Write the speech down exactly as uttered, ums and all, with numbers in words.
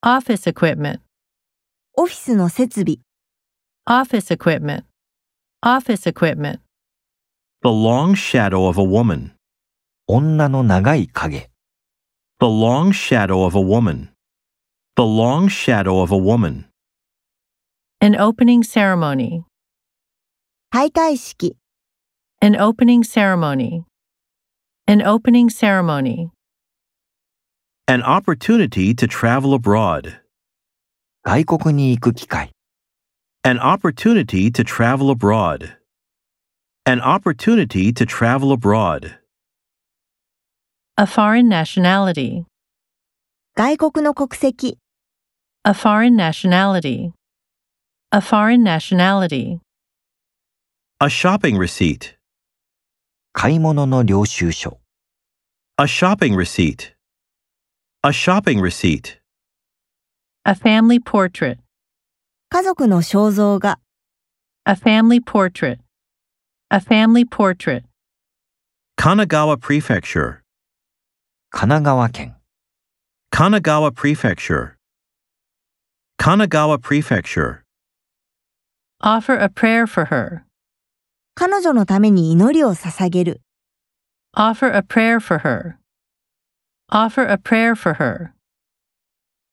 Office equipment. オフィスの設備。 Office equipment. Office equipment. The long shadow of a woman. 女の長い影。 The long shadow of a woman. The long shadow of a woman. An opening ceremony. 開会式。 An opening ceremony. An opening ceremony. An opportunity to travel abroad. 外国に行く機会。 An opportunity to travel abroad. An opportunity to travel abroad. A foreign nationality. 外国の国籍。 A foreign nationality. A foreign nationality. A shopping receipt. 買い物の領収書。 A shopping receipt. A shopping receipt. A family portrait. 家族の肖像画。 A family portrait. A family portrait. Kanagawa Prefecture. 神奈川県。 Kanagawa Prefecture. Kanagawa Prefecture. Offer a prayer for her. 彼女のために祈りを捧げる。 Offer a prayer for her. Offer a prayer for her.